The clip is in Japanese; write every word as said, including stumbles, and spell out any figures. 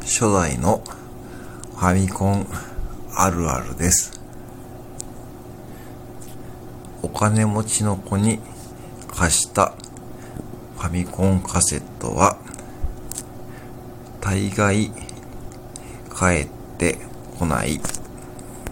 初代のファミコンあるあるです。お金持ちの子に貸したファミコンカセットは大概帰ってこない。